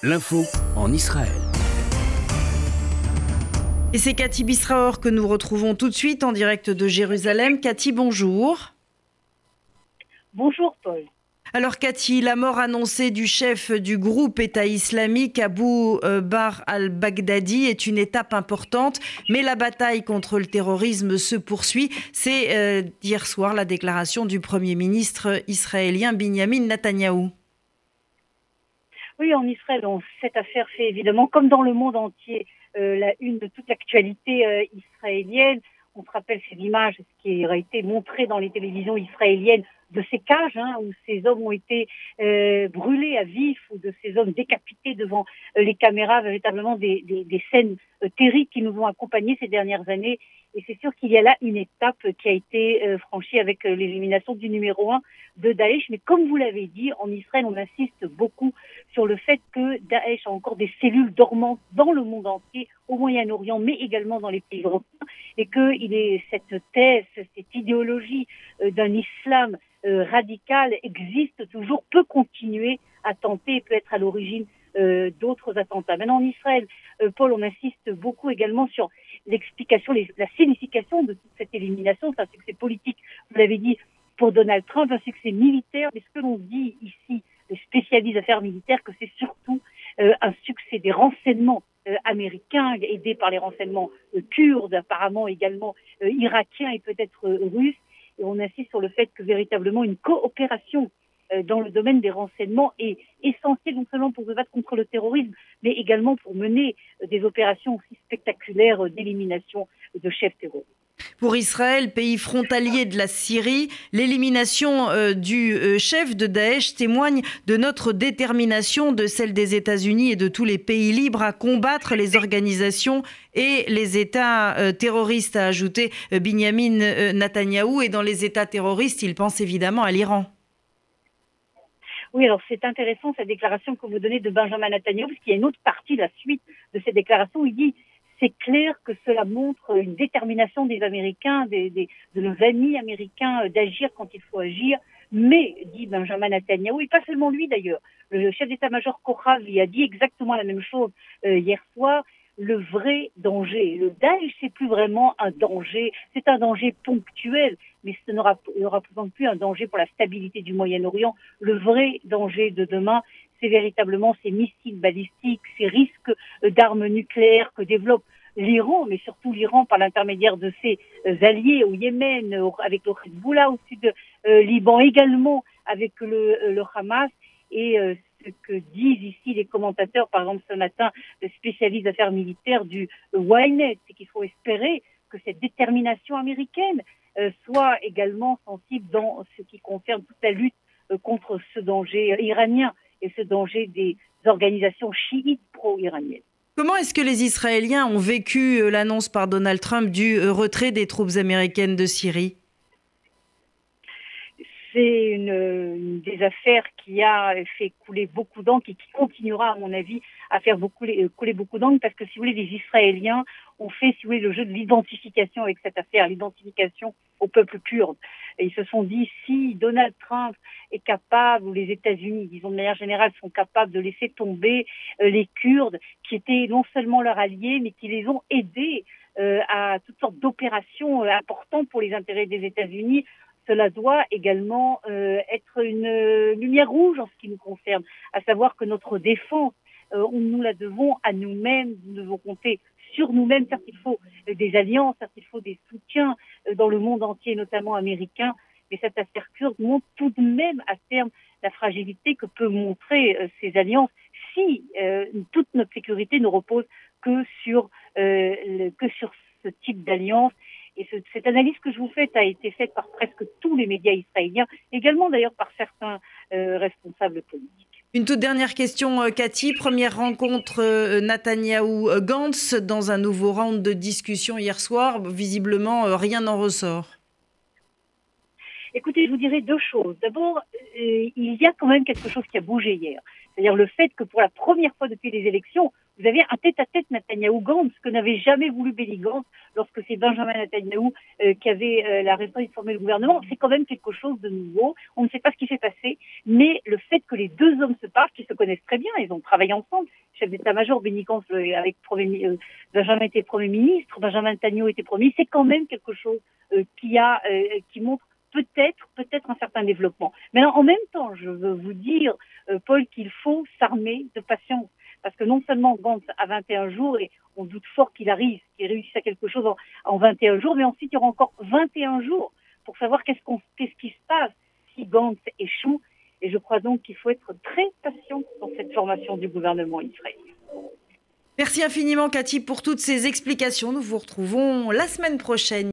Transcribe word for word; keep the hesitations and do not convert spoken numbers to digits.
L'info en Israël. Et c'est Cathy Bisraor que nous retrouvons tout de suite en direct de Jérusalem. Cathy, bonjour. Bonjour Paul. Alors Cathy, la mort annoncée du chef du groupe État islamique Abu Bakr al-Baghdadi est une étape importante, mais la bataille contre le terrorisme se poursuit. C'est euh, hier soir la déclaration du Premier ministre israélien Binyamin Netanyahou. Oui, en Israël, on, cette affaire fait évidemment, comme dans le monde entier, euh, la une de toute l'actualité euh, israélienne. On se rappelle ces images, ce qui a été montré dans les télévisions israéliennes de ces cages, hein, où ces hommes ont été euh, brûlés à vif, ou de ces hommes décapités devant euh, les caméras, véritablement des, des, des scènes euh, terribles qui nous ont accompagnés ces dernières années. Et c'est sûr qu'il y a là une étape qui a été euh, franchie avec euh, l'élimination du numéro un de Daesh. Mais comme vous l'avez dit, en Israël, on insiste beaucoup sur le fait que Daesh a encore des cellules dormantes dans le monde entier, au Moyen-Orient, mais également dans les pays européens, et qu'il est cette thèse, cette idéologie euh, d'un islam euh, radical existe toujours, peut continuer à tenter, peut être à l'origine euh, d'autres attentats. Maintenant, en Israël, euh, Paul, on insiste beaucoup également sur l'explication, les, la signification de toute cette élimination. C'est un succès politique, vous l'avez dit, pour Donald Trump, un succès militaire, mais ce que l'on dit ici, les spécialistes d'affaires militaires, que c'est surtout euh, un succès des renseignements euh, américains, aidés par les renseignements euh, kurdes, apparemment également euh, irakiens et peut-être euh, russes. Et on insiste sur le fait que véritablement une coopération euh, dans le domaine des renseignements est essentielle, non seulement pour se battre contre le terrorisme, mais également pour mener euh, des opérations aussi spectaculaires euh, d'élimination de chefs terroristes. Pour Israël, pays frontalier de la Syrie, l'élimination euh, du euh, chef de Daesh témoigne de notre détermination, de celle des États-Unis et de tous les pays libres à combattre les organisations et les États euh, terroristes, a ajouté euh, Binyamin euh, Netanyahou. Et dans les États terroristes, il pense évidemment à l'Iran. Oui, alors c'est intéressant cette déclaration que vous donnez de Benjamin Netanyahou, parce qu'il y a une autre partie, la suite de cette déclaration, où il dit: c'est clair que cela montre une détermination des Américains, des, des, de nos amis américains euh, d'agir quand il faut agir. Mais, dit Benjamin Netanyahou, et pas seulement lui d'ailleurs, le chef d'état-major Kochav lui a dit exactement la même chose euh, hier soir, le vrai danger. Le Daesh, c'est plus vraiment un danger, c'est un danger ponctuel, mais ce ne représente plus un danger pour la stabilité du Moyen-Orient. Le vrai danger de demain, c'est véritablement ces missiles balistiques, ces risques d'armes nucléaires que développe l'Iran, mais surtout l'Iran par l'intermédiaire de ses alliés au Yémen, avec le Hezbollah, au sud euh, Liban également, avec le, le Hamas. Et euh, ce que disent ici les commentateurs, par exemple ce matin, le spécialiste d'affaires militaires du Ynet, c'est qu'il faut espérer que cette détermination américaine euh, soit également sensible dans ce qui concerne toute la lutte euh, contre ce danger iranien et ce danger des organisations chiites pro-iraniennes. Comment est-ce que les Israéliens ont vécu l'annonce par Donald Trump du retrait des troupes américaines de Syrie ? C'est une, une des affaires qui a fait couler beaucoup d'encre et qui continuera, à mon avis, à faire beaucoup, couler beaucoup d'encre, parce que, si vous voulez, les Israéliens ont fait, si vous voulez, le jeu de l'identification avec cette affaire, l'identification au peuple kurde. Et ils se sont dit, si Donald Trump est capable, ou les États-Unis, disons de manière générale, sont capables de laisser tomber euh, les Kurdes, qui étaient non seulement leurs alliés, mais qui les ont aidés euh, à toutes sortes d'opérations euh, importantes pour les intérêts des États-Unis, cela doit également euh, être une euh, lumière rouge en ce qui nous concerne, à savoir que notre défense, euh, nous la devons à nous-mêmes, nous devons compter sur nous-mêmes. Certes, il faut euh, des alliances, certes, il faut des soutiens euh, dans le monde entier, notamment américain, mais cette affaire kurde montre tout de même à terme la fragilité que peut montrer euh, ces alliances si euh, toute notre sécurité ne repose que sur, euh, le, que sur ce type d'alliance. Et ce, cette analyse que je vous fais a été faite par presque tous les médias israéliens, également d'ailleurs par certains euh, responsables politiques. Une toute dernière question, Cathy. Première rencontre euh, Netanyahou-Gantz dans un nouveau round de discussion hier soir. Visiblement, euh, rien n'en ressort. Écoutez, je vous dirais deux choses. D'abord, euh, il y a quand même quelque chose qui a bougé hier. C'est-à-dire le fait que pour la première fois depuis les élections, Vous avez un tête-à-tête Netanyahou-Gantz, ce que n'avait jamais voulu Benny Gantz lorsque c'est Benjamin Netanyahou euh, qui avait euh, la responsabilité de former le gouvernement. C'est quand même quelque chose de nouveau. On ne sait pas ce qui s'est passé, mais le fait que les deux hommes se parlent, qu'ils se connaissent très bien, ils ont travaillé ensemble. Chef d'état-major, Benny Gantz euh, avec premier, euh, Benjamin était Premier ministre, Benjamin Netanyahou était Premier ministre. C'est quand même quelque chose euh, qui, a, euh, qui montre peut-être, peut-être un certain développement. Mais alors, en même temps, je veux vous dire, euh, Paul, qu'il faut s'armer de patience. Parce que non seulement Gantz a vingt et un jours, et on doute fort qu'il arrive, qu'il réussisse à quelque chose en, en vingt et un jours, mais ensuite il y aura encore vingt et un jours pour savoir qu'est-ce, qu'on, qu'est-ce qui se passe si Gantz échoue. Et je crois donc qu'il faut être très patient dans cette formation du gouvernement israélien. Merci infiniment, Cathy, pour toutes ces explications. Nous vous retrouvons la semaine prochaine.